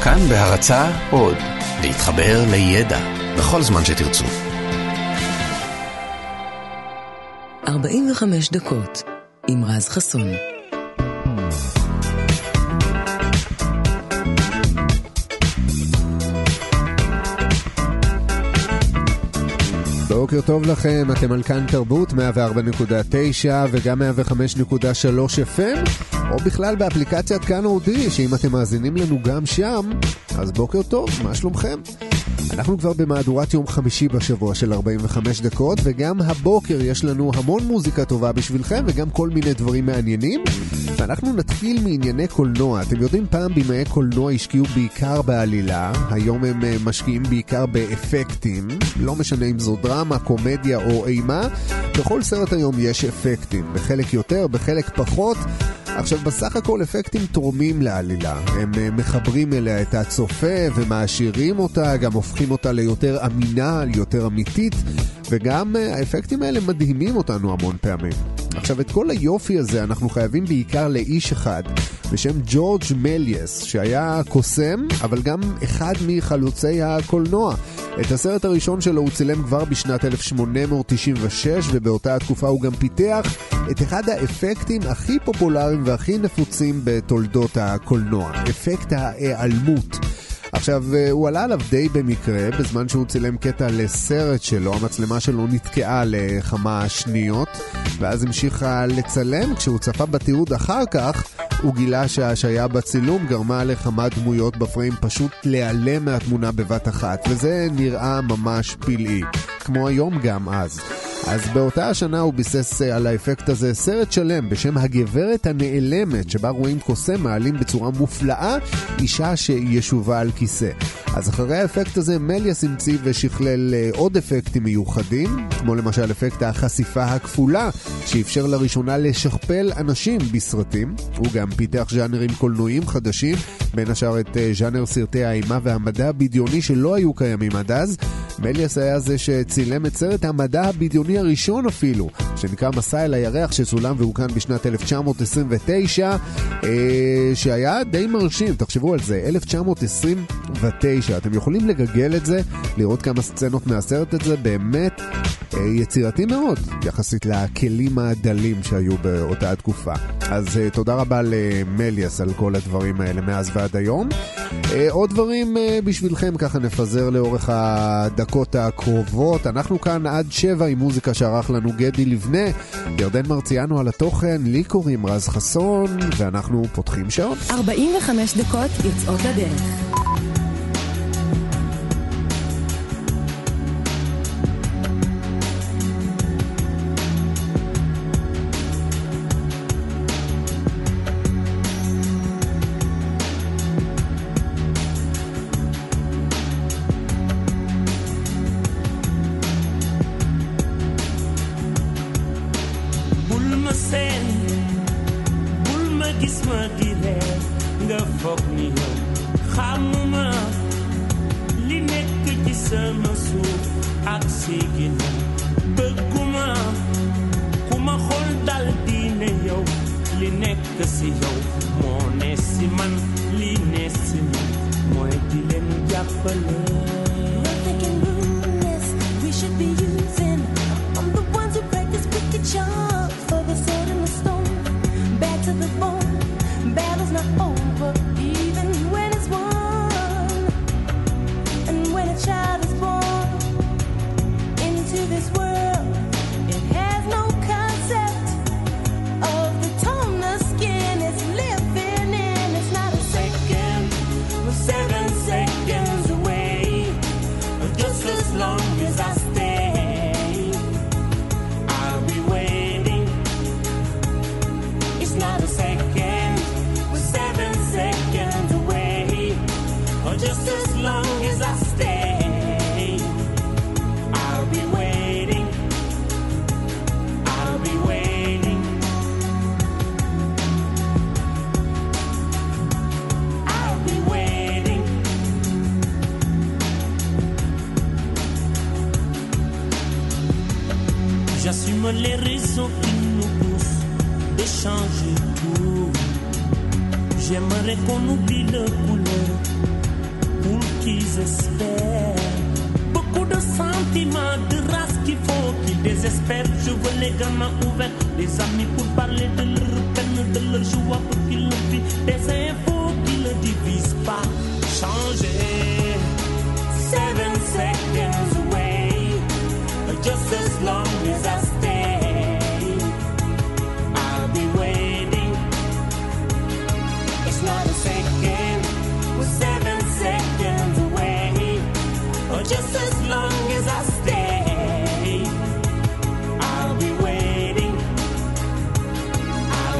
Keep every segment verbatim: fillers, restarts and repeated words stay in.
כאן בהרצאה עוד, להתחבר לידע בכל זמן שתרצו. ארבעים וחמש דקות עם רז חסון. בוקר טוב לכם, אתם על כאן תרבות מאה וארבע נקודה תשע וגם מאה וחמש נקודה שלוש אף אם, או בכלל באפליקציית כאן אודי, שאם אתם מאזינים לנו גם שם, אז בוקר טוב, מה שלומכם? אנחנו כבר במהדורת יום חמישי בשבוע של ארבעים וחמש דקות, וגם הבוקר יש לנו המון מוזיקה טובה בשבילכם, וגם כל מיני דברים מעניינים. ואנחנו נתחיל מענייני קולנוע. אתם יודעים, פעם בימי קולנוע השקיעו בעיקר בעלילה, היום הם משקיעים בעיקר באפקטים, לא משנה אם זו דרמה, קומדיה או אימה, בכל סרט היום יש אפקטים, בחלק יותר, בחלק פחות. עכשיו, בסך הכל אפקטים תורמים לעלילה, הם מחברים אליה את הצופה ומעשירים אותה, גם הופכים אותה ליותר אמינה, ליותר אמיתית, וגם האפקטים האלה מדהימים אותנו המון פעמים. עכשיו, את כל היופי הזה אנחנו חייבים בעיקר לאיש אחד בשם ג'ורג' מליאס, שהיה קוסם, אבל גם אחד מחלוצי הקולנוע. את הסרט הראשון שלו הוא צילם כבר בשנת אלף שמונה מאות תשעים ושש, ובאותה התקופה הוא גם פיתח את אחד האפקטים הכי פופולריים והכי נפוצים בתולדות הקולנוע, אפקט ההיעלמות. עכשיו, הוא עלה עליו די במקרה, בזמן שהוא צילם קטע לסרט שלו, המצלמה שלו נתקעה לכמה שניות, ואז המשיכה לצלם. כשהוא צפה בתיעוד אחר כך, הוא גילה שהשהיה בצילום גרמה לכמה דמויות בפריים פשוט להיעלם מהתמונה בבת אחת, וזה נראה ממש פלאי, כמו היום גם אז. אז באותה השנה הוא ביסס על האפקט הזה סרט שלם בשם הגברת הנעלמת, שבה רואים קוסם מעלים בצורה מופלאה אישה שישובה על כיסא. אז אחרי האפקט הזה מליאס המציא ושכלל עוד אפקטים מיוחדים, כמו למשל אפקט החשיפה הכפולה, שאפשר לראשונה לשכפל אנשים בסרטים. הוא גם פיתח ז'אנרים קולנועיים חדשים, בין השאר את ז'אנר סרטי האימה והמדע הבדיוני שלא היו קיימים עד אז. מליאס היה זה שצילם את סרט המדע הבדיוני הראשון אפילו, שנקרא מסע אל הירח, שצולם והוקרן בשנת אלף תשע מאות עשרים ותשע, אה, שהיה די מרשים. תחשבו על זה, אלף תשע מאות עשרים ותשע, אתם יכולים לגגל את זה, לראות כמה סצנות מהסרט הזה, באמת אה, יצירתי מאוד יחסית לכלים הדלים שהיו באותה התקופה. אז אה, תודה רבה למליאס על כל הדברים האלה מאז ועד היום. אה, עוד דברים אה, בשבילכם, ככה נפזר לאורך הדקות הקרובות. אנחנו כאן עד שבע עם מוזיקה שערך לנו גדי לבנה, ירדן מרציאנו על התוכן, לי קוראים רז חסון, ואנחנו פותחים שעון. ארבעים וחמש דקות יוצאות לדרך. J'assume les raisons qui nous poussent de changer tout. J'aimerais qu'on oublie le couleur désespère. Je veux les gamins ouverts, des amis pour parler de leur peine, de leur joie pour qu'ils le vivent, des infos qui ne divisent pas. Changer, seven seconds away, just as long as I stay, I'll be waiting. It's not a second, we're seven seconds away, or just as long as I stay, I'll be waiting. I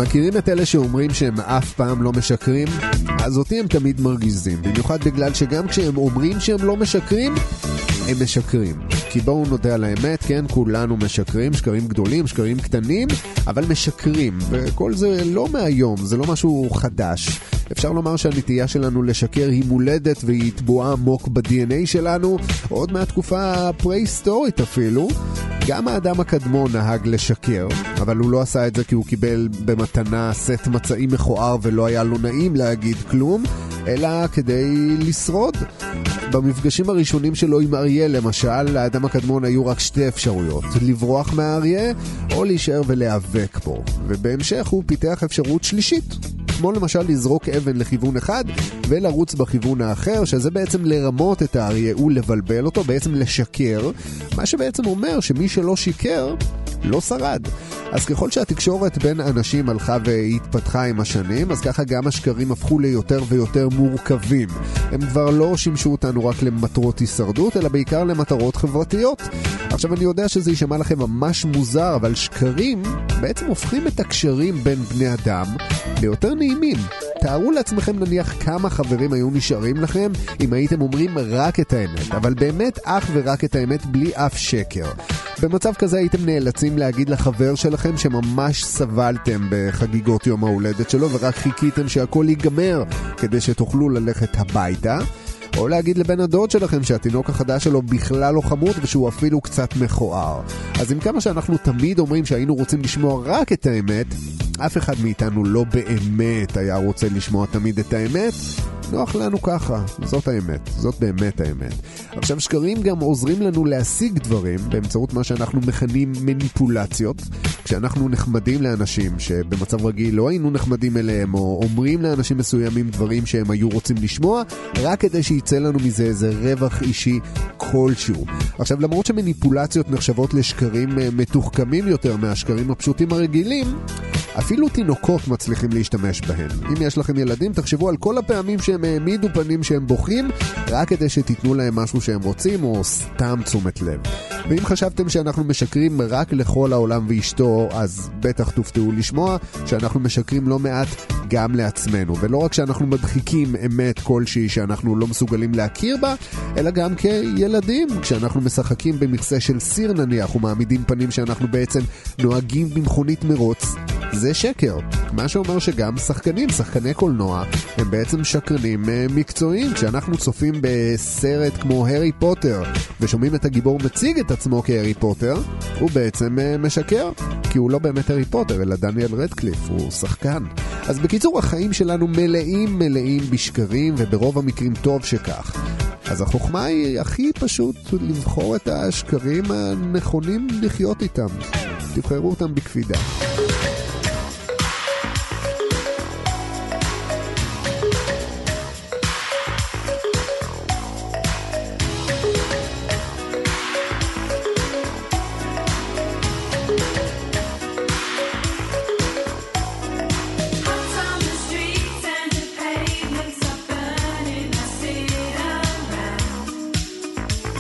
מכירים את אלה שאומרים שהם אף פעם לא משקרים? אז אותי הם תמיד מרגיזים, במיוחד בגלל שגם כשהם אומרים שהם לא משקרים, הם משקרים. כי בואו נודה על האמת, כן, כולנו משקרים, שקרים גדולים, שקרים קטנים, אבל משקרים, וכל זה לא מהיום, זה לא משהו חדש. אפשר לומר שהנטייה שלנו לשקר היא מולדת והיא תבואה עמוק ב-די אן איי שלנו, עוד מהתקופה הפרה-היסטורית אפילו. גם האדם הקדמון נהג לשקר, אבל הוא לא עשה את זה כי הוא קיבל במתנה סט מצעים מכוער ולא היה לו נעים להגיד כלום, אלא כדי לשרוד. במפגשים הראשונים שלו עם אריה למשל, לאדם הקדמון היו רק שתי אפשרויות, לברוח מהאריה או להישאר ולהיאבק בו, ובהמשך הוא פיתח אפשרות שלישית, כמו למשל לזרוק אבן לכיוון אחד ולרוץ בכיוון האחר, שזה בעצם לרמות את האריה ולבלבל אותו, בעצם לשקר, מה שבעצם אומר שמי שלא שיקר לא שרד. אז ככל שהתקשורת בין אנשים הלכה והתפתחה עם השנים, אז ככה גם השקרים הפכו ליותר ויותר מורכבים. הם כבר לא שימשו אותנו רק למטרות הישרדות, אלא בעיקר למטרות חברתיות. עכשיו אני יודע שזה יישמע לכם ממש מוזר, אבל שקרים בעצם הופכים את הקשרים בין בני אדם ליותר נעימים. תארו לעצמכם נניח כמה חברים היו נשארים לכם אם הייתם אומרים רק את האמת, אבל באמת אך ורק את האמת בלי אף שקר. במצב כזה הייתם נאלצים להגיד לחבר שלכם שממש סבלתם בחגיגות יום ההולדת שלו ורק חיכיתם שהכל ייגמר כדי שתוכלו ללכת הביתה, או להגיד לבן הדוד שלכם שהתינוק החדש שלו בכלל לא חמוד ושהוא אפילו קצת מכוער. אז עם כמה שאנחנו תמיד אומרים שהיינו רוצים לשמוע רק את האמת, אף אחד מאיתנו לא באמת היה רוצה לשמוע תמיד את האמת. נוח לנו ככה, זאת האמת, זאת באמת האמת. עכשיו שקרים גם עוזרים לנו להשיג דברים באמצעות מה שאנחנו מכנים מניפולציות. כשאנחנו נחמדים לאנשים שבמצב רגיל לא היינו נחמדים אליהם, או אומרים לאנשים מסוימים דברים שהם היו רוצים לשמוע, רק כדי שיצא לנו מזה איזה רווח אישי כלשהו. עכשיו למרות שמניפולציות נחשבות לשקרים מתוחכמים יותר מהשקרים הפשוטים הרגילים, אפילו תינוקות מצליחים להשתמש בהם. אם יש לכם ילדים, תחשבו על כל הפעמים שהם העמידו פנים שהם בוכים, רק כדי שתיתנו להם משהו שהם רוצים, או סתם תשומת לב. ואם חשבתם שאנחנו משקרים רק לכל העולם ואשתו, אז בטח תופתעו לשמוע שאנחנו משקרים לא מעט גם לעצמנו. ולא רק שאנחנו מדחיקים אמת כלשהי שאנחנו לא מסוגלים להכיר בה, אלא גם כילדים, כשאנחנו משחקים במכסה של סיר נניח, ומעמידים פנים שאנחנו בעצם נוהגים במכונית מרוץ, זה שקר. מה שאומר שגם שחקנים, שחקני קולנוע, הם בעצם שקרנים מקצועיים. כשאנחנו צופים בסרט כמו הרי פוטר ושומעים את הגיבור מציג את עצמו כהרי פוטר, הוא בעצם משקר, כי הוא לא באמת הרי פוטר, אלא דניאל רדקליף, הוא שחקן. אז בקיצור, החיים שלנו מלאים מלאים בשקרים, וברוב המקרים טוב שכך. אז החוכמה היא הכי פשוט לבחור את השקרים הנכונים לחיות איתם. תבחרו אותם בקפידה.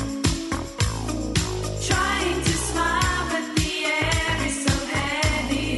Trying to smile, but the air is so heavy.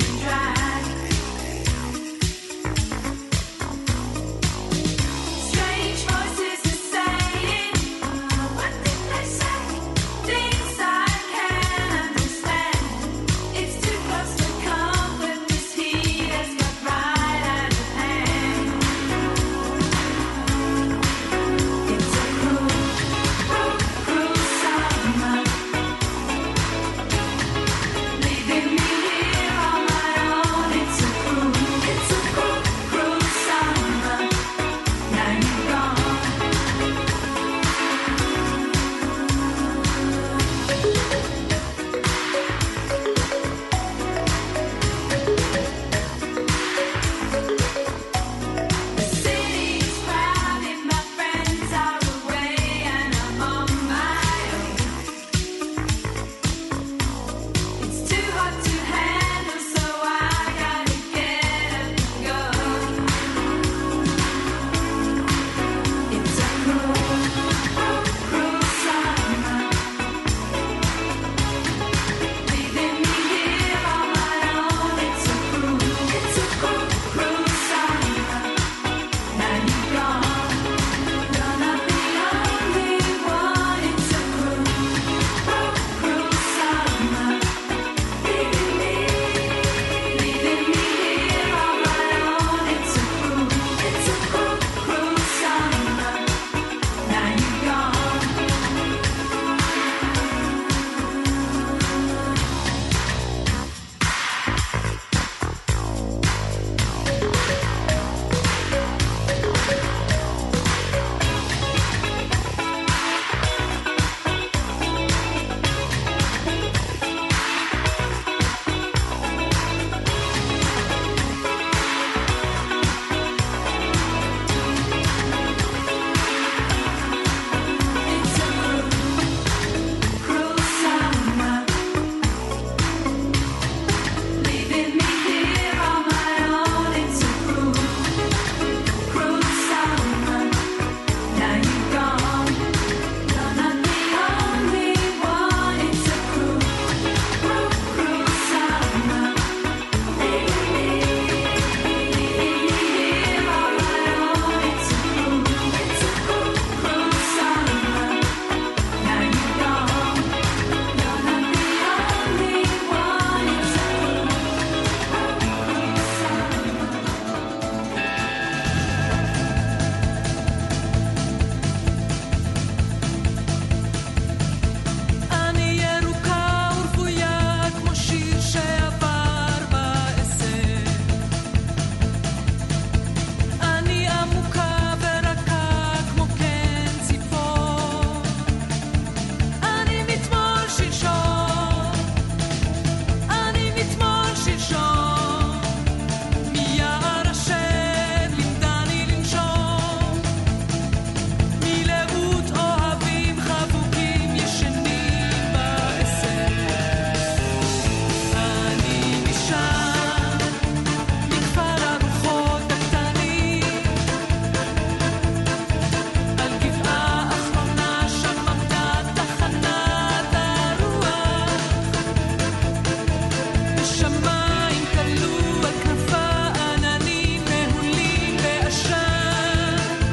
בשמיים תלו על כנפה עננים מהולים בעשן,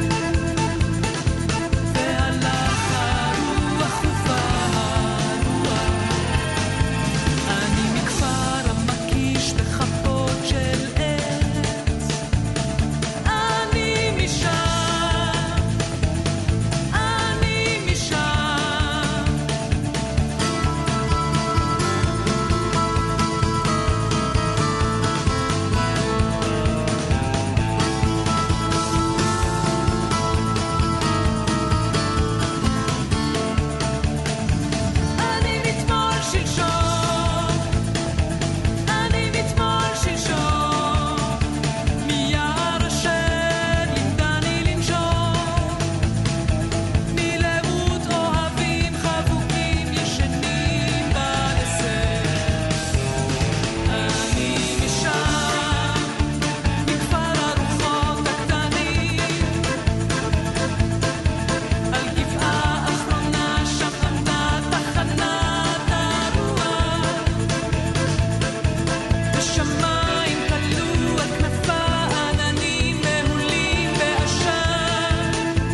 והלך הרוח ובא הרוח. אני מכפר המקיש בחפות של עץ, אני משם, אני משם. אני מתמול שלשום, אני מתמול שלשום, מיער אשר לימדני לנשום, מלאות אוהבים חבוקים ישנים בעשר. אני משם, מכפר הרוחות הקטנים, על גבעה אחרונה שם עמדה תחנת הרוח. בשמיים תלו על כנפה עננים מהולים בעשן,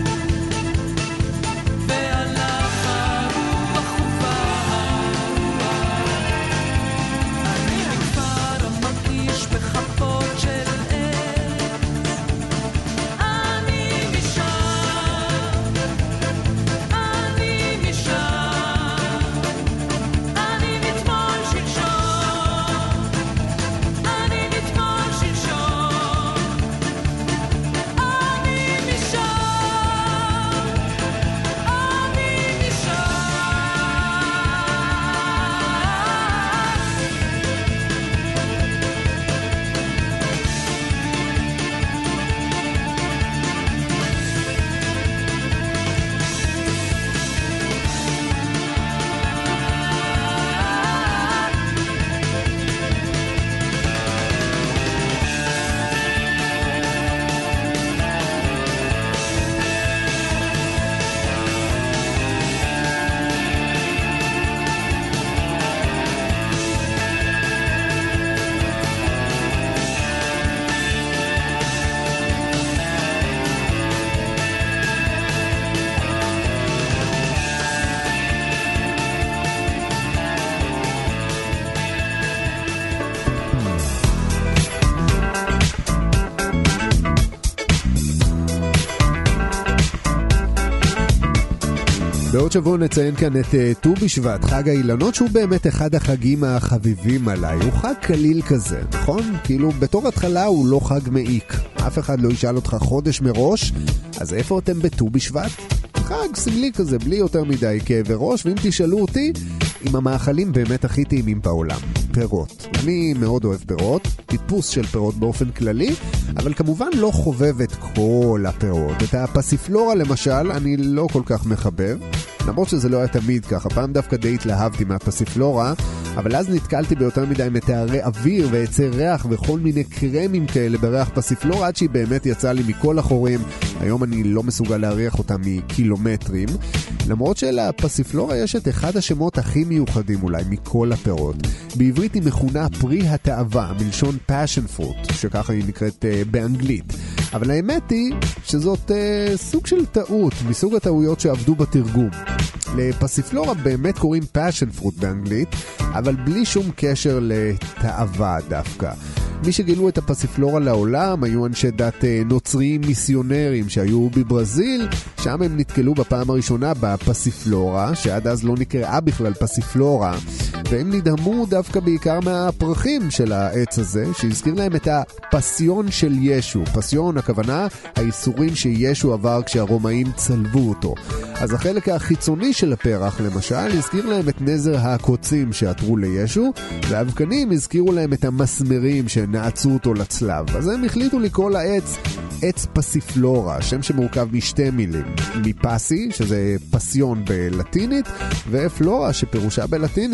והלך הרוח ובא הרוח. אני מכפר המקיש בחפות של עץ, אני משם, אני משם. אני מתמול שלשום, אני מתמול שלשום, אני משם, אני משם. בעוד שבוע נציין כאן את ט"ו בשבט, חג האילנות, שהוא באמת אחד החגים החביבים עליי. הוא חג קליל כזה, נכון? כאילו בתור התחלה הוא לא חג מעיק. אף אחד לא ישאל אותך חודש מראש, אז איפה אתם בט"ו בשבט? חג סמלי כזה, בלי יותר מדי כאבי ראש, ואם תשאלו אותי, עם המאכלים באמת הכי טעימים בעולם, פירות. אני מאוד אוהב פירות, טיפוס של פירות באופן כללי, אבל כמובן לא חובב את כל הפירות. את הפסיפלורה למשל, אני לא כל כך מחבב, למרות שזה לא היה תמיד ככה. פעם דווקא די התלהבתי מהפסיפלורה, אבל אז נתקלתי ביותר מדי מתארי אוויר ועצי ריח וכל מיני קרמים כאלה בריח פסיפלורה, עד שהיא באמת יצאה לי מכל החורים. היום אני לא מסוגל להריח אותה מקילומטרים, למרות שלפסיפלורה יש את אחד השמות הכי מיוחדים אולי מכל הפירות. בעברית היא מכונה פרי התאווה, מלשון passion fruit, שככה היא נקראת uh, באנגלית. אבל האמת היא שזאת uh, סוג של טעות, מסוג הטעויות שעבדו בתרגום. לפסיפלורה באמת קוראים passion fruit באנגלית, אבל בלי שום קשר לתאווה דווקא. מי שגילו את הפסיפלורה לעולם היו אנשי דת נוצריים מיסיונרים שהיו בברזיל, שם הם נתקלו בפעם הראשונה בפסיפלורה, שעד אז לא נקראה בכלל פסיפלורה, והם נדהמו דווקא בעיקר מהפרחים של העץ הזה, שהזכיר להם את הפסיון של ישו. פסיון, הכוונה, האיסורים שישו עבר כשהרומאים צלבו אותו. אז החלק החיצוני של הפרח, למשל, הזכיר להם את נזר הקוצים שעתרו לישו, והאבקנים הזכירו להם את המסמרים שנעצו אותו לצלב. אז הם החליטו לקרוא לעץ עץ פסיפלורה, שם שמורכב משתי מילים, מפסי, שזה פסיון בלטינית, ופלורה, שפירושה בלטינית הוא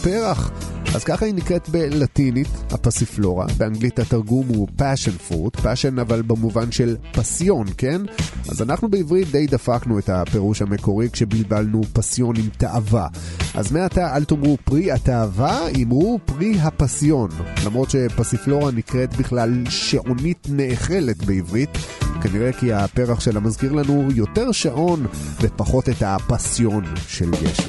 הפרח. אז ככה היא נקראת בלטינית, הפסיפלורה. באנגלית התרגום הוא passion fruit, passion אבל במובן של פסיון, כן? אז אנחנו בעברית די דפקנו את הפירוש המקורי כשבלבלנו פסיון עם תאווה. אז מעתה אל תאמרו פרי התאווה, אמרו פרי הפסיון. למרות שפסיפלורה נקראת בכלל שעונית נאכלת בעברית, כנראה כי הפרח שלה מזכיר לנו יותר שעון ופחות את הפסיון של ישו.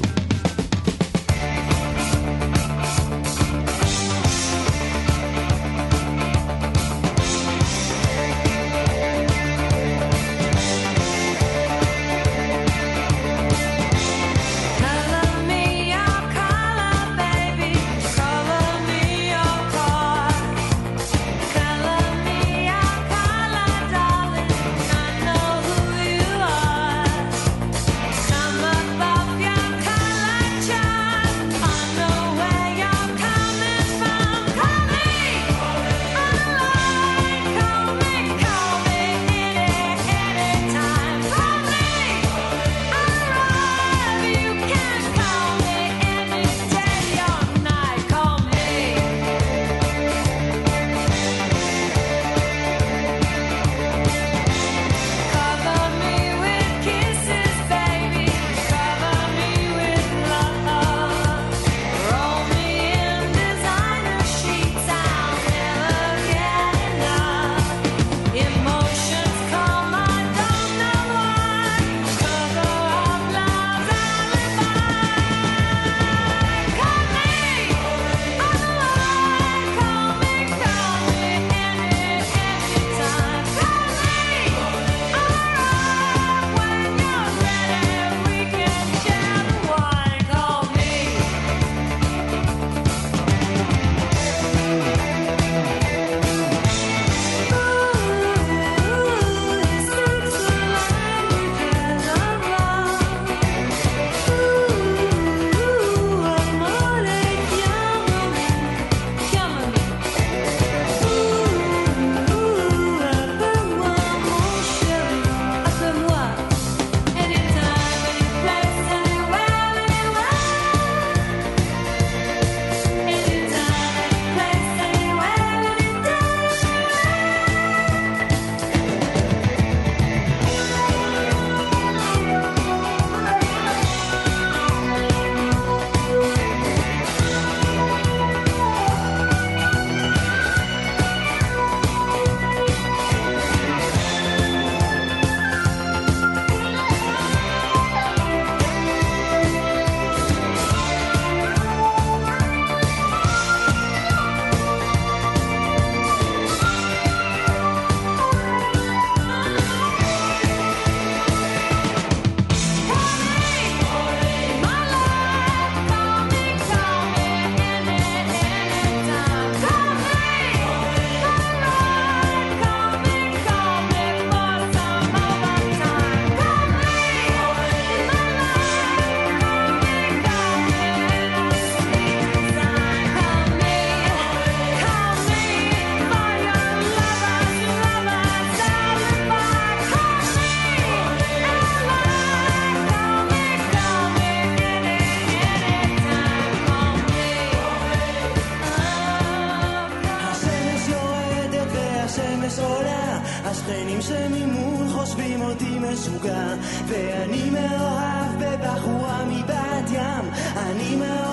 ואני מאוהב בבחורה מבת ים, אני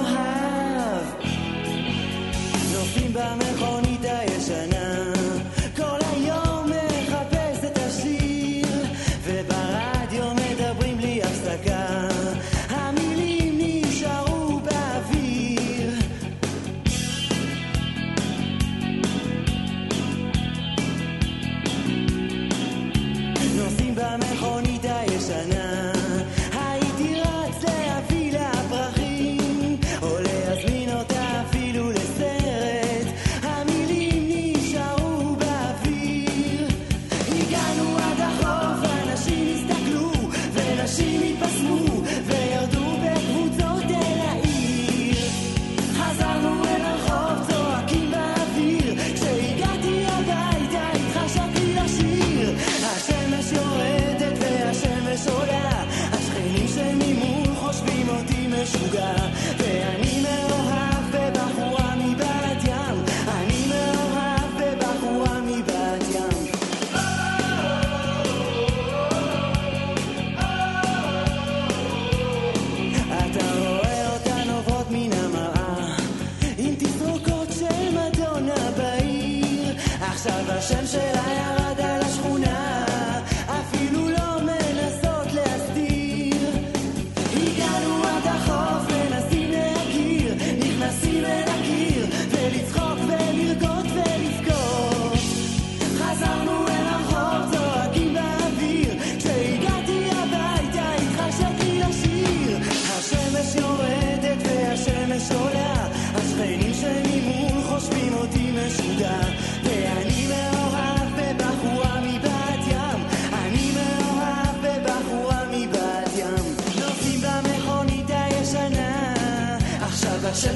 מאוהב. נופים במכונית הישנה, כל היום מחפש את השיר, וברדיו מדברים בלי הפסקה, המילים נשארו באוויר. נוסעים במכונית הישנה, הייתי רץ להביא לה פרחים, או להזמין אותה אפילו לסרט, המילים נשארו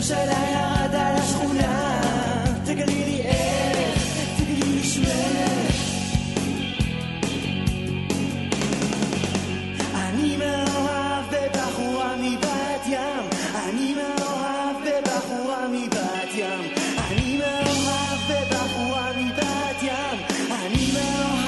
שלה ירד על השכונה, תגלי לי איך, תגלי לי שמך. אני מאוהב בבחורה מבת ים, אני מאוהב בבחורה מבת ים, אני מאוהב בבחורה מבת ים, אני מאוהב.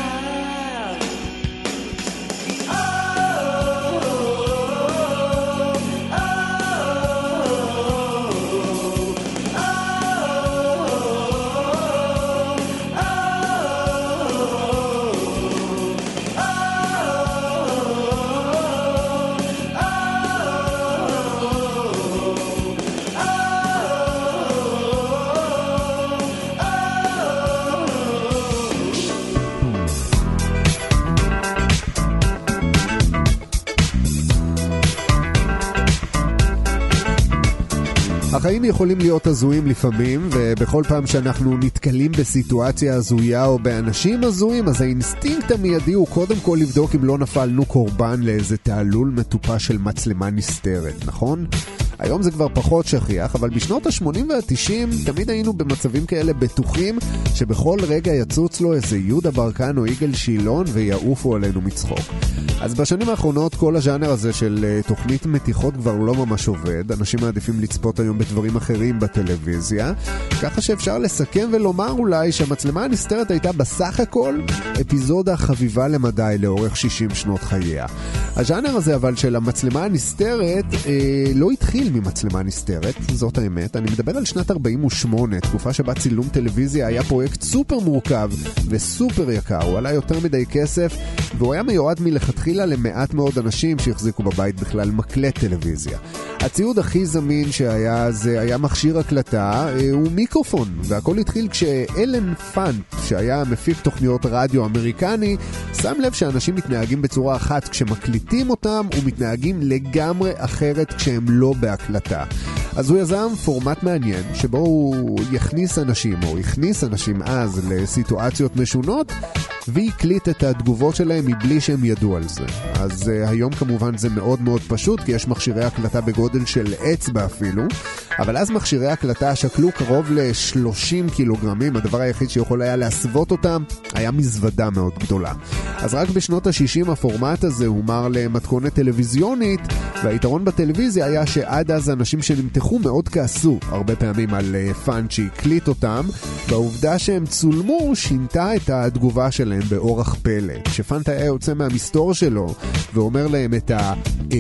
החיים יכולים להיות הזויים לפעמים, ובכל פעם שאנחנו נתקלים בסיטואציה הזויה או באנשים הזויים, אז האינסטינקט המיידי הוא קודם כל לבדוק אם לא נפלנו קורבן לאיזה תעלול מטופש של מצלמה נסתרת, נכון? היום זה כבר פחות שכיח, אבל בשנות ה-שמונים וה-תשעים תמיד היינו במצבים כאלה בטוחים שבכל רגע יצוץ לו איזה יהודה ברקן או יגאל שילון ויעופו עלינו מצחוק. אז בשנים האחרונות כל הז'אנר הזה של תוכנית מתיחות כבר לא ממש עובד, אנשים מעדיפים לצפות היום בדברים אחרים בטלוויזיה, ככה שאפשר לסכם ולומר אולי שהמצלמה הנסתרת הייתה בסך הכל אפיזודה חביבה למדי לאורך שישים שנות חייה. הז'אנר הזה אבל של המצלמה הנסתרת אה, לא התחיל ממצלמה נסתרת, זאת האמת. אני מדבר על שנת ארבעים ושמונה, תקופה שבה צילום טלוויזיה היה פרויקט סופר מורכב וסופר יקר, הוא עלה יותר מדי כסף והוא היה מיועד מלכתחילה למעט מאוד אנשים שהחזיקו בבית בכלל מקלט טלוויזיה. הציוד הכי זמין שהיה זה היה מכשיר הקלטה הוא מיקרופון, והכל התחיל כשאלן פאנט שהיה מפיק תוכניות רדיו אמריקני שם לב שאנשים מתנהגים בצורה אחת כשמקליטים אותם ומתנהגים לגמרי אחרת כשהם לא בהקלטה. אז הוא יזם פורמט מעניין שבו הוא יכניס אנשים או הכניס אנשים אז לסיטואציות משונות והקליט את התגובות שלהם מבלי שהם ידעו על זה. אז uh, היום כמובן זה מאוד מאוד פשוט כי יש מכשירי הקלטה בגודל של אצבע אפילו, אבל אז מכשירי הקלטה שקלו קרוב ל-שלושים קילוגרמים, הדבר היחיד שיכול היה להסוות אותם היה מזוודה מאוד גדולה. אז רק בשנות ה-שישים הפורמט הזה הומר למתכונת טלוויזיונית, והיתרון בטלוויזיה היה שעד אז אנשים שנמתחו מאוד כעסו הרבה פעמים על uh, פאנט שהקליט אותם, והעובדה שהם צולמו שינתה את התגובה שלהם באורח פלא. כשפאנט היה יוצא מהמסתור שלו ואומר להם את ה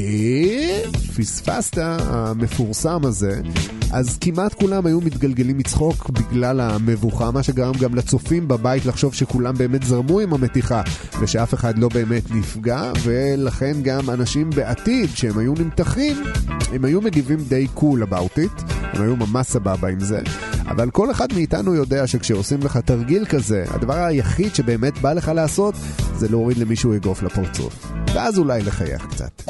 אה פספסת המפורסם הזה, אז כמעט כולם היו מתגלגלים מצחוק בגלל המבוכה, מה שגרם גם לצופים בבית לחשוב שכולם באמת זרמו עם המתיחה ושאף אחד לא באמת נפגע, ולכן גם אנשים בעתיד שהם היו נמתחים הם היו מגיבים די cool about it, הם היו ממש סבבה עם זה. אבל כל אחד מאיתנו יודע שכשעושים לך תרגיל כזה, הדבר היחיד שבאמת בא לך לעשות זה להוריד למישהו אגרוף לפרצוף, ואז אולי לחייך קצת.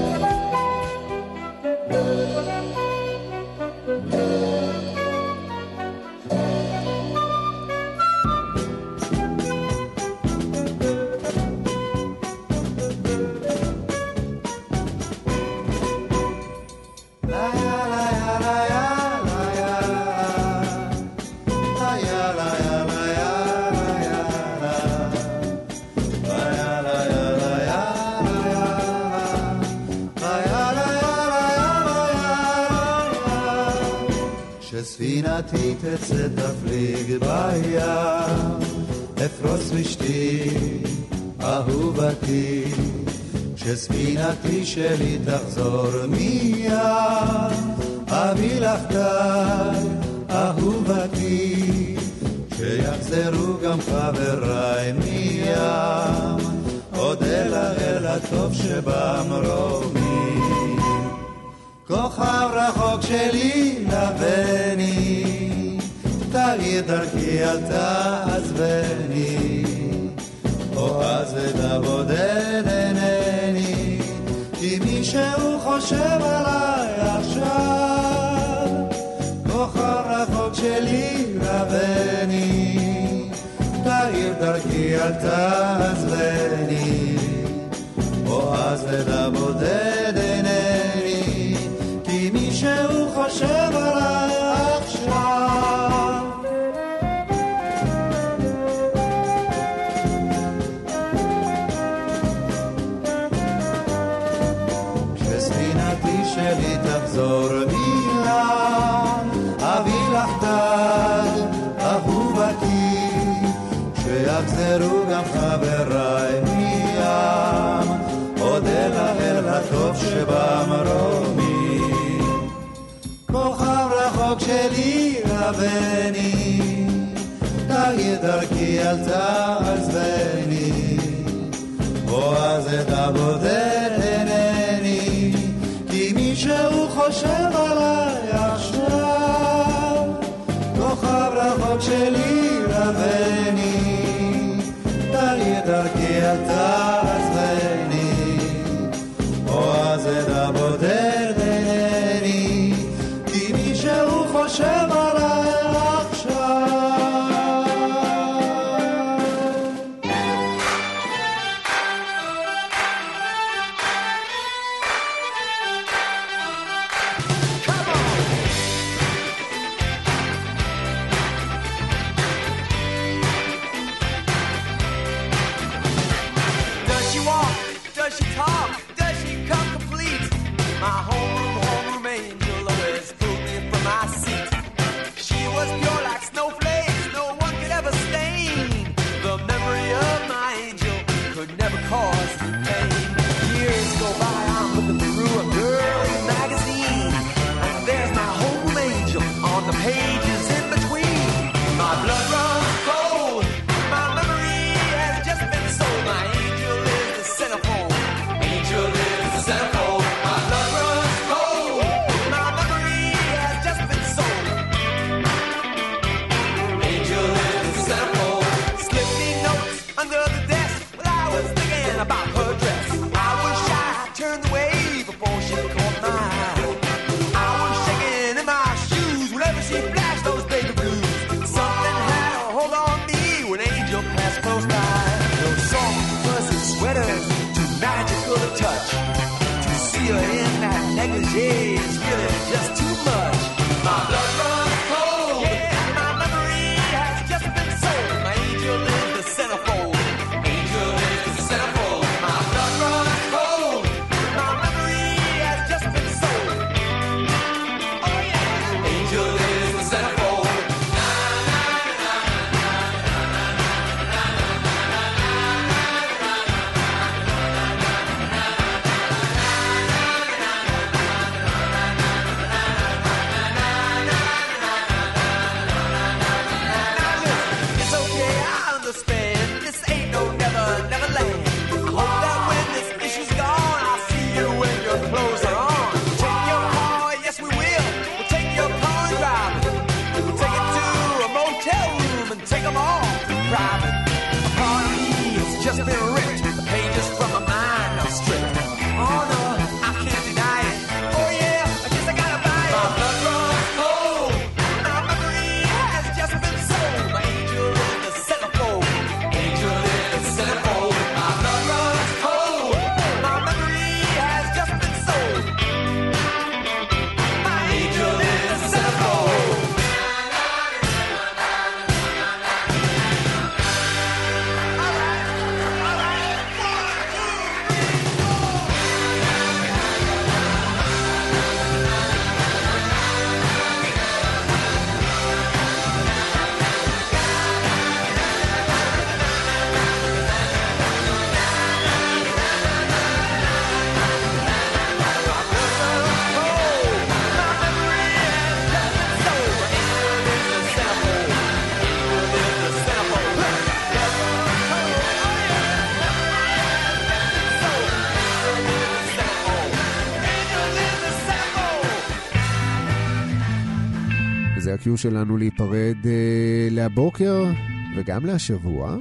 ספינתי תצא תפליג בים, אפרוץ ושתי אהובתי, כשספינתי שלי תחזור מיד, אביא לך די אהובתי, שיחזרו גם חבריי מים, אודה לך אל הטוב שבמרומי. כוכב רחוק שלי לבני, תאיר דרכי אל תעזבני, אוהז ודבודד אינני, כי מישהו חושב עליי עכשיו. כוכב רחוק שלי לבני, תאיר דרכי אל תעזבני, אוהז ודבודד אינני, שהוא חושב עליי יזכרו גם חבריי מים, אודה לאל הטוב שבמרומי. כוכב רחוק שלי רבני, תאיר דרכי אל תעזבני, או אז את הבודד אינני, כי מישהו חושב עליי עכשיו. כוכב רחוק שלי רבני, תאיר דרכי אל תעזבני, או אז את הבודד אינני, כי מישהו חושב עליי עכשיו. זה הקיו שלנו להיפרד אה, להבוקר וגם להשבוע.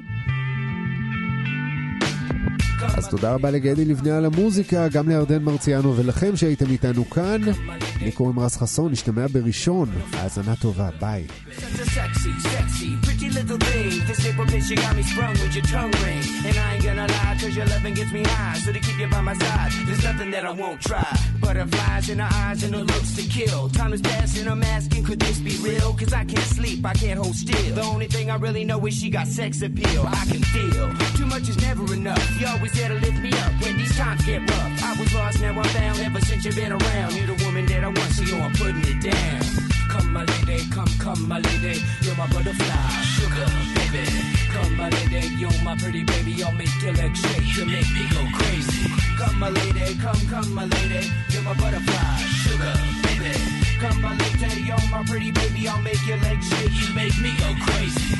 אז תודה רבה לגדי לבנה על המוזיקה, גם לירדן מרציאנו ולכם שהייתם איתנו כאן. לי קוראים רז חסון, נשתמע בראשון. האזנה טובה, ביי. Sexy, sexy, pretty little thing. This April bitch, you got me sprung with your tongue ring. And I ain't gonna lie, cause your loving gets me high. So to keep you by my side, there's nothing that I won't try. Butterflies in her eyes and her looks to kill. Time is passing, I'm asking, could this be real? Cause I can't sleep, I can't hold still. The only thing I really know is she got sex appeal. I can feel, too much is never enough. You always there to lift me up when these times get rough. I was lost, now I'm found, ever since you've been around. You're the woman that I want, so yo, I'm putting it down. Come my lady, come, come. come my lady, you're my butterfly, sugar, baby. Come my lady, you're my pretty baby, I'll make your legs shake, you make me go crazy. Come my lady, come, come my lady, you're my butterfly, sugar, baby. Come my lady, you're my pretty baby, I'll make your legs shake, you make me go crazy.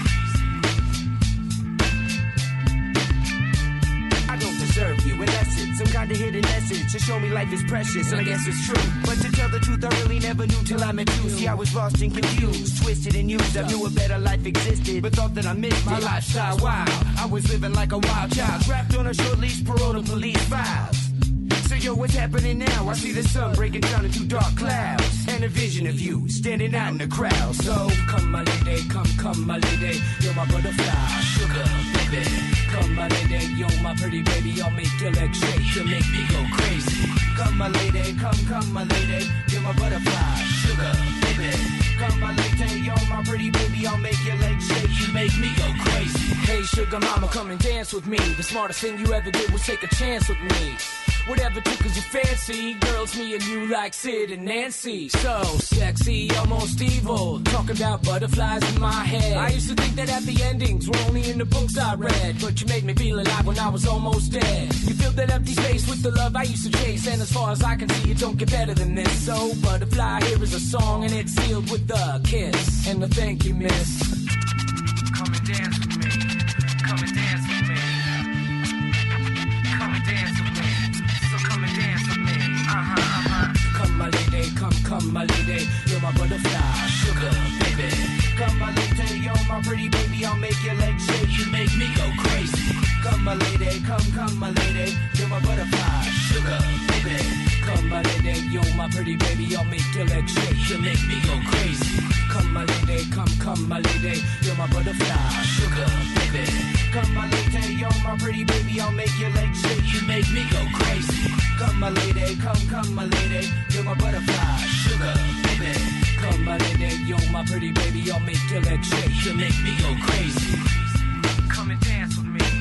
I don't deserve you, unless it's some kind of hidden message to show me life is precious, and I guess it's true. But to tell the truth, I really never knew till I met you. See, I was lost and confused, twisted and used. I knew a better life existed, but thought that I missed my lifestyle. Wow, I was living like a wild child, trapped on a short leash, parole to police files. So yo, what's happening now? I see the sun breaking down into dark clouds, and a vision of you standing out in the crowd. So come my lady, come, come my lady, you're my butterfly, sugar, baby. Come my lady, you're my pretty baby, I'll make your legs shake, you make me go crazy. Come my lady, come, come my lady, you're my butterfly, sugar, baby. Come my lady, you're my pretty baby, I'll make your legs shake, you make me go crazy. Hey sugar mama, come and dance with me. The smartest thing you ever did was take a chance with me. Whatever tickles your fancy, girls, me and you like Sid and Nancy. So sexy, almost evil, talking about butterflies in my head. I used to think that happy endings were only in the books I read, but you made me feel alive when I was almost dead. You filled that empty space with the love I used to chase, and as far as I can see, it don't get better than this. So butterfly, here is a song, and it's sealed with a kiss and a thank you, miss. Come and dance with me. Come and dance with me. Come and dance with me. Come and dance with me, uh-huh, uh-huh. Come my lady, come, come my lady, you're my butterfly, sugar, baby. Come my lady, you're my pretty baby, I'll make your legs shake, you make me go crazy. Come my lady, come, come my lady, you're my butterfly, sugar, baby. Come my lady, you're my pretty baby, I'll make your legs shake, you make me go crazy. Come my lady, come, come my lady, you're my butterfly, sugar, baby. Come my lady, you're my pretty baby, I'll make your legs shake, you make me go crazy. Come my lady, come, come my lady, you're my butterfly, sugar, baby. Come my lady, you're my pretty baby, I'll make your legs shake, you make me go crazy. Come and dance with me.